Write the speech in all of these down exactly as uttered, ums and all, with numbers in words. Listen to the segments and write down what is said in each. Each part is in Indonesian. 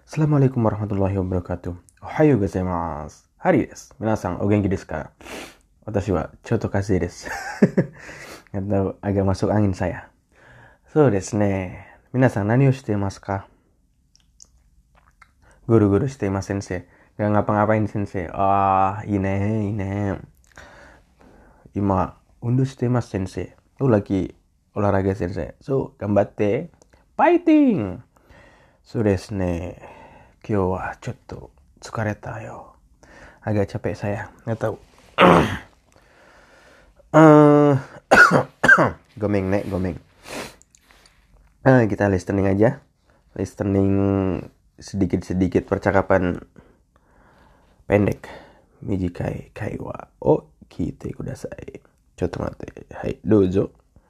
Assalamualaikum warahmatullahi wabarakatuh. Ohayo gozaimasu. Hari desu. Minasan, o genki desu ka? Watashi wa chotto kazei desu. Atau agak masuk angin saya. So desu ne. Minasan, nani o shiteimasu ka? Guru-guru shiteimasu sensei. Gak ngapa-ngapain sensei. Ah, ine, ine. Ima, undo shiteimasu sensei. Oh, lagi olahraga sensei. So, gambatte. Fighting! So desu ne. Kyou wa chotto tsukareta yo. Agak capek saya. Nggak tahu. uh, gomeng nek, gomeng. Uh, kita listening aja. Listening sedikit-sedikit percakapan pendek. Mijikai kaiwa o kiite kudasai. Chotto matte. Hai, douzo.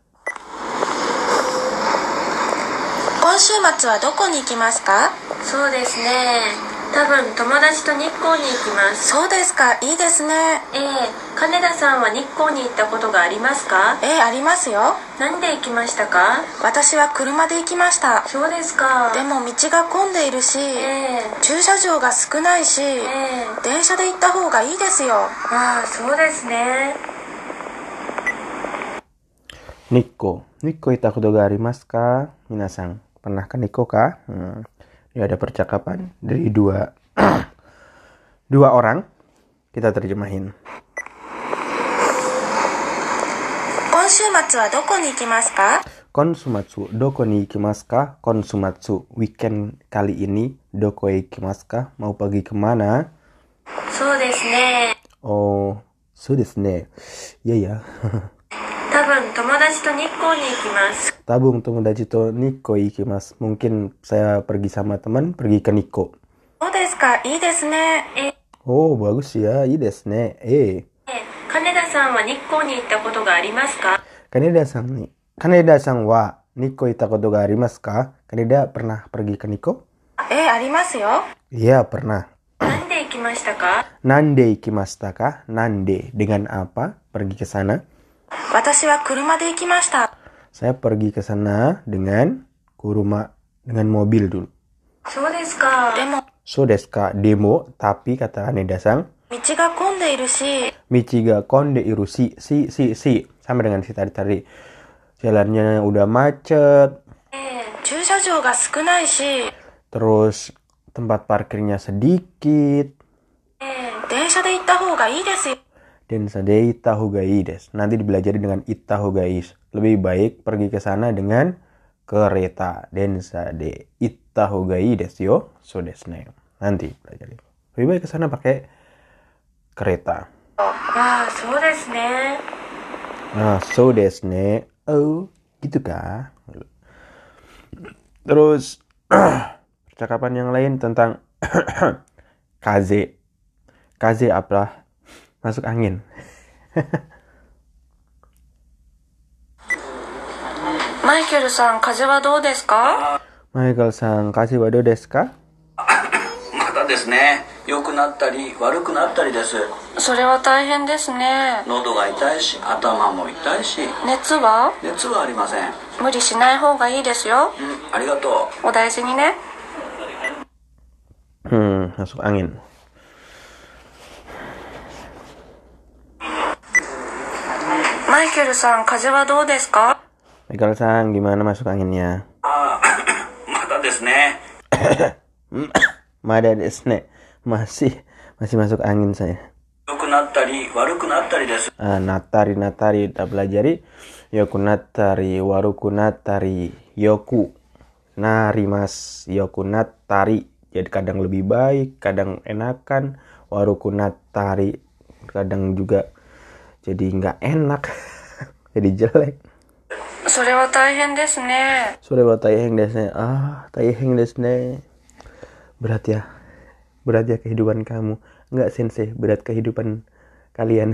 今週末はどこに行きますか？ そうですね。多分友達と日光に行きます。 そうですか、いいですね。 ええ、金田さんは日光に行ったことがありますか？ ええ、ありますよ。 何で行きましたか？ 私は車で行きました。 そうですか。 でも道が混んでいるし、 ええ、 駐車場が少ないし、 ええ、 電車で行った方がいいですよ。 ああ、そうですね。 日光. Nikko ita koto ga arimasu ka? Minasan, pernah ke Nikko ka? Hmm. Ya, ada percakapan dari dua dua orang. Kita terjemahin. 今週末はどこに行きますか？ Konsumatsu, doko ni ikimasu ka? Konsumatsu, weekend kali ini. Doko e ikimasu ka? Mau pergi kemana? そうですね。 Oh, so desu ne. Iya ya. 多分友達と日光に行きます。 Tabung tomodachi to Nikko ikimasu. Mungkin saya pergi sama teman, pergi ke Nikko. そうですか、いいですね。 ええ、 Oh, bagus ya. Ii desu ne. Eh. 金田さんは日光に行ったことがありますか？ Kaneda-san ni. Kaneda-san wa Nikko ita koto ga arimasu ka? Kaneda pernah pergi ke Nikko? ええ、ありますよ。 Iya, pernah. 何で行きましたか？ Nande ikimashita ka? Nande, dengan apa pergi ke sana? 私は車で行きました。 Saya pergi ke sana dengan kuruma, dengan mobil dulu. そうですか。 でも So desu ka? Demo, tapi kata Kaneda-san, 道が混んでいるし、 Michi ga konde iru si, si, si, si. Sama dengan si tadi-tadi. Jalannya udah macet. ええ、 駐車場が少ないし、 Terus tempat parkirnya sedikit. ええ、 電車で行った方がいいですよ。 Densa de itahugai desu. Nanti dipelajari dengan itahugai. Lebih baik pergi ke sana dengan kereta. Densa de itahugai desu yo. So desu ne. Nanti pelajari. Lebih baik ke sana pakai kereta. ああ、そうですね。 Nah, so desu ne. Oh, gitu kah? Terus percakapan yang lain tentang kaze. Kaze apa? Masuk angin. マイケルさん、風はどうですか？ Michael-san, kaze wa do desu ka? またですね、良くなったり悪くなったりです。 それは大変ですね。 喉が痛いし頭も痛いし、 熱は？ 熱はありません。 無理しない方がいいですよ。 うん、ありがとう。 お大事にね。 Hmm, masuk angin. マイケルさん、風はどうですか？ Michael-san, gimana masuk anginnya? ああ、またですね。 Mada desu ne. Masih, masih masuk angin saya. 良くなったり悪くなったりです。 Ah, natari, natari, kita pelajari. Yoku natari, waruku natari, yoku. Narimas, yoku natari. Jadi kadang lebih baik, kadang enakan. Waruku natari, kadang juga jadi nggak enak. Jadi jelek. それは大変ですね。 Sore wa taiheng desu ne. Ah, taiheng desu ne. Berat ya. Berat ya kehidupan kamu. Enggak sensei, berat kehidupan kalian.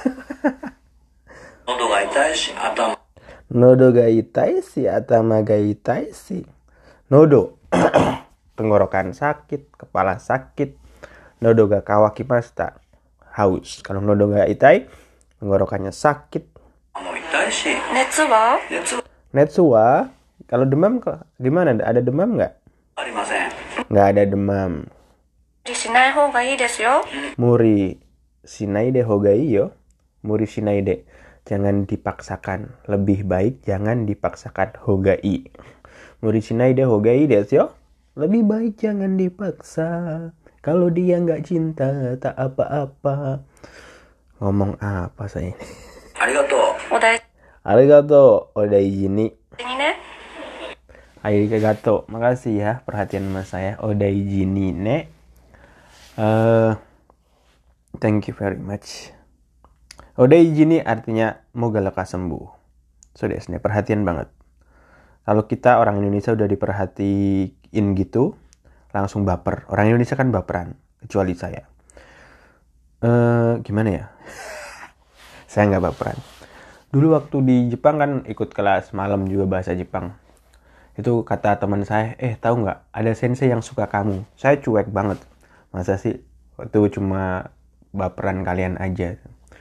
喉が痛いし頭。 Nodo ga itai si, atama ga itai si. Nodo. Tenggorokan sakit, kepala sakit. Nodo ga kawakimashita. Haus. Kalau nodo ga itai, tenggorokannya sakit. もう痛いし。 熱は？ 熱は Netsuwa, kalau demam kok gimana? Ada demam nggak? ありません。 nggak ada demam. 無理しない方がいいですよ。 Muri shinaide hogai yo. Muri shinaide. Jangan dipaksakan. Lebih baik jangan dipaksakan. Hogai. Muri shinaide hogai desu yo. Lebih baik jangan dipaksa. Kalau dia nggak cinta, tak apa-apa. Ngomong apa saya ini? ありがとう。 お大事 Arigato odaiji ni. にね。 Arigato. Makasih ya perhatian sama saya. Odaiji ni ne. Uh, thank you very much. Odaiji ni artinya moga lekas sembuh. So desne, perhatian banget. Kalau kita orang Indonesia udah diperhatiin gitu, langsung baper. Orang Indonesia kan baperan, kecuali saya. Uh, gimana ya? Saya nggak baperan. Dulu waktu di Jepang kan ikut kelas malam juga bahasa Jepang. Itu kata teman saya, eh tahu nggak? Ada sensei yang suka kamu. Saya cuek banget. Masa sih? Itu cuma baperan kalian aja.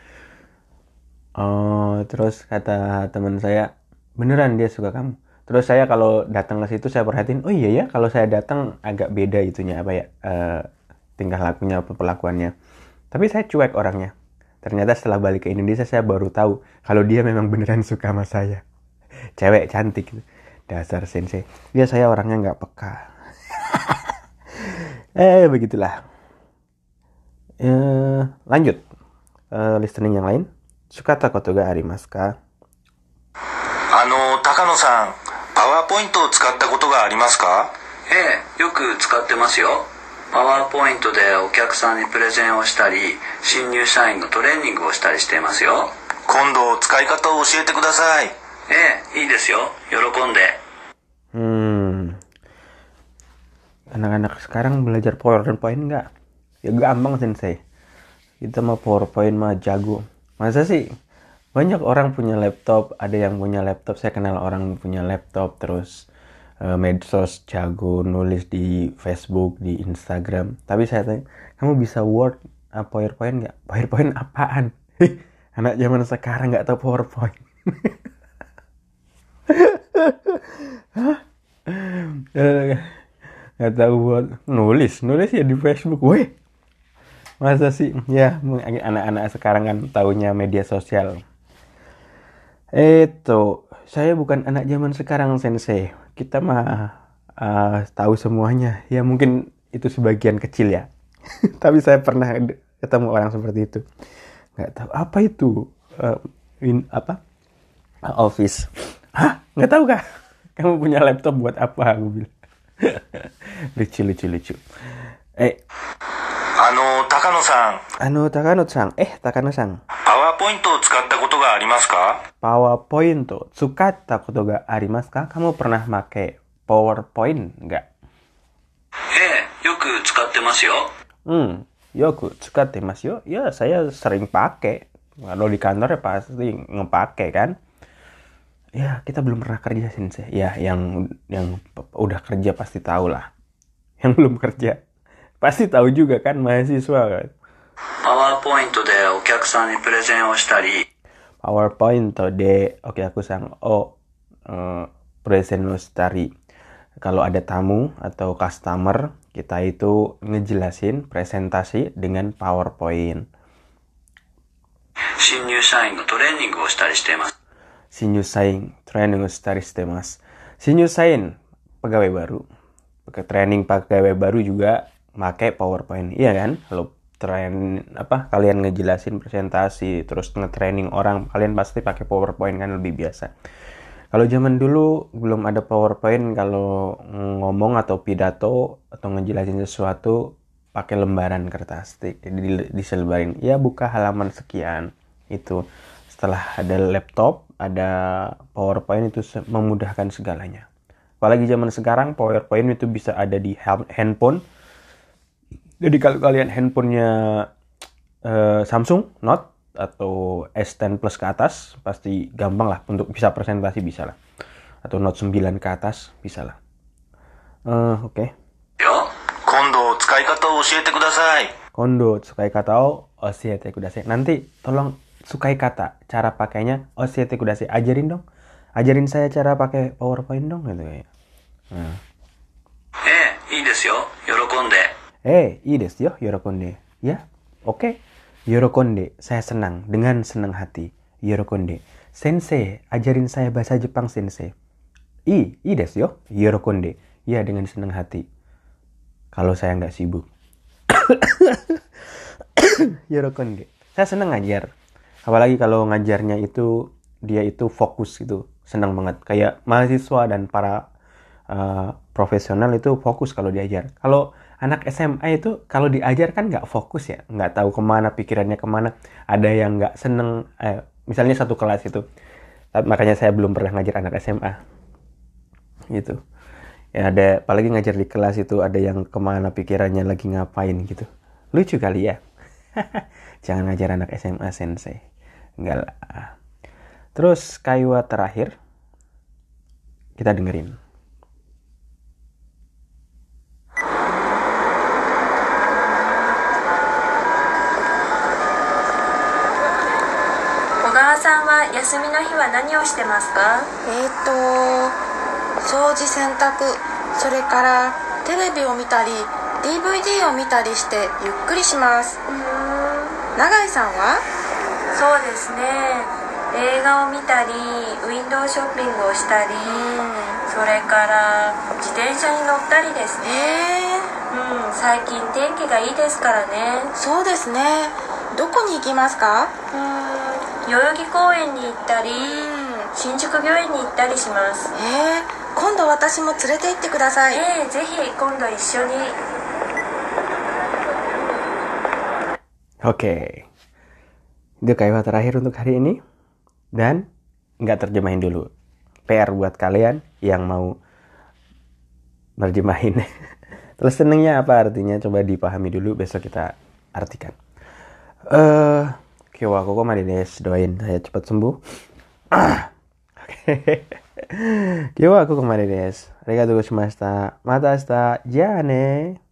Uh, terus kata teman saya, beneran dia suka kamu. Terus saya kalau datang ke situ saya perhatiin, oh iya ya, kalau saya datang agak beda itunya apa ya, uh, tingkah lakunya, perlakuannya. Tapi saya cuek orangnya. Ternyata setelah balik ke Indonesia saya baru tahu kalau dia memang beneran suka sama saya. Cewek cantik, dasar sensei. Ya saya orangnya nggak peka. eh begitulah. Uh, lanjut, uh, listening yang lain. Sukata koto ga arimasu ka? あの高野さん、パワーポイントを使ったことがありますか？ ええ、よく使ってますよ。パワーポイントでお客さんにプレゼンをしたり、新入社員のトレーニングをしたりしていますよ。 今度使い方を教えてください。 ええ、いいですよ。喜んで。 Hmm. Anak-anak sekarang belajar PowerPoint nggak? Ya gampang sensei. Kita mau PowerPoint mah jago. Masa sih? Banyak orang punya laptop, ada yang punya laptop. Saya kenal orang punya laptop, terus uh, medsos jago, nulis di Facebook, di Instagram. Tapi saya tanya, kamu bisa Word, uh, PowerPoint nggak? PowerPoint apaan? Anak zaman sekarang nggak tahu PowerPoint. Nggak tahu buat nulis, nulis ya di Facebook. Weh, masa sih? Ya, anak-anak sekarang kan taunya media sosial. Itu, saya bukan anak zaman sekarang sensei. Kita mah uh, tahu semuanya. Ya mungkin itu sebagian kecil ya. Tapi saya pernah ketemu orang seperti itu. Nggak tahu apa itu uh, in, apa Office. Hah? Nggak tahu kah? Kamu punya laptop buat apa? Aku bilang. lucu lucu lucu. Eh. あの高野さん、 Ano Takano-san. Eh Takano-san. パワーポイントを使ったことがありますか？ PowerPoint tsukatta koto ga arimasu ka? Kamu pernah pakai PowerPoint nggak? ええ、よく使ってますよ。 Hmm, yoku tsukatte masu yo. Ya, saya sering pakai. Kalau di kantor ya pasti ngepake kan. Ya, kita belum pernah kerja sensei. Ya, yang yang udah kerja pasti tahu lah. Yang belum kerja pasti tahu juga kan, mahasiswa kan. パワーポイントでお客さんにプレゼンをしたり、 PowerPoint de oke aku sang o uh, present shitari. Kalau ada tamu atau customer, kita itu ngejelasin presentasi dengan PowerPoint. 新入社員のトレーニングをしたりしています。 Shinyusain training shitari shitemasu. Shinyusain pegawai baru. Pakai training pegawai baru juga pakai PowerPoint. Iya kan? Kalau train apa kalian ngejelasin presentasi terus nge-training orang, kalian pasti pakai PowerPoint kan, lebih biasa. Kalau zaman dulu belum ada PowerPoint, kalau ngomong atau pidato atau ngejelasin sesuatu pakai lembaran kertas, jadi diselebarin. Ya buka halaman sekian. Itu setelah ada laptop, ada PowerPoint, itu memudahkan segalanya. Apalagi zaman sekarang PowerPoint itu bisa ada di handphone. Jadi kalau kalian handphonenya uh, Samsung Note atau S sepuluh Plus ke atas, pasti gampang lah untuk bisa presentasi, bisa lah. Atau Note sembilan ke atas, bisa lah. Uh, Oke. Okay. 今度使い方を教えてください。 Kondo sukai kata o oshiete kudasai. Nanti tolong sukai kata, cara pakainya oshiete kudasai. Ajarin dong. Ajarin saya cara pakai PowerPoint dong gitu kayak. Nah. ええ、いいですよ。 喜んで。 Eh, ii desu yo, yorokonde. Ya, oke. Yorokonde, saya senang. Dengan senang hati. Yorokonde. Sensei, ajarin saya bahasa Jepang, sensei. I, ii desu yo, yorokonde. Ya, dengan senang hati. Kalau saya nggak sibuk. Yorokonde. Saya senang ngajar. Apalagi kalau ngajarnya itu, dia itu fokus gitu. Senang banget. Kayak mahasiswa dan para uh, profesional itu fokus kalau diajar. Kalau anak S M A itu kalau diajar kan nggak fokus ya, nggak tahu kemana pikirannya kemana. Ada yang nggak seneng, eh, misalnya satu kelas itu. Makanya saya belum pernah ngajar anak S M A. Gitu. Ya ada, apalagi ngajar di kelas itu ada yang kemana pikirannya lagi ngapain gitu. Lucu kali ya. Jangan ngajar anak S M A, sensei. Enggak lah. Terus kaiwa terakhir kita dengerin. 小川さんは休みの日は何をしてますか？ えーと掃除洗濯、それからテレビを見たり ディーブイディー を見たりしてゆっくりします。 うーん、 永井さんは？ そうですね、映画を見たりウィンドウショッピングをしたり、それから自転車に乗ったりですね。 えー、 うん、最近天気がいいですからね。 そうですね。どこに行きますか？ うーん、代々木公園に行ったり、新宿御苑に行ったりします。 えー、今度私も連れて行ってください。 ええ、ぜひ今度一緒に。 Oke. Itu kaiwa terakhir untuk hari ini. Dan nggak terjemahin dulu. P R buat kalian yang mau nerjemahin. Terus senengnya apa artinya? Coba dipahami dulu, besok kita artikan. Eh, uh, Kyowa koko made desu. Doain saya cepat sembuh. Oke. Kyowa koko made desu. Arigatou gozaimashita. Mata ashita. Ja ne.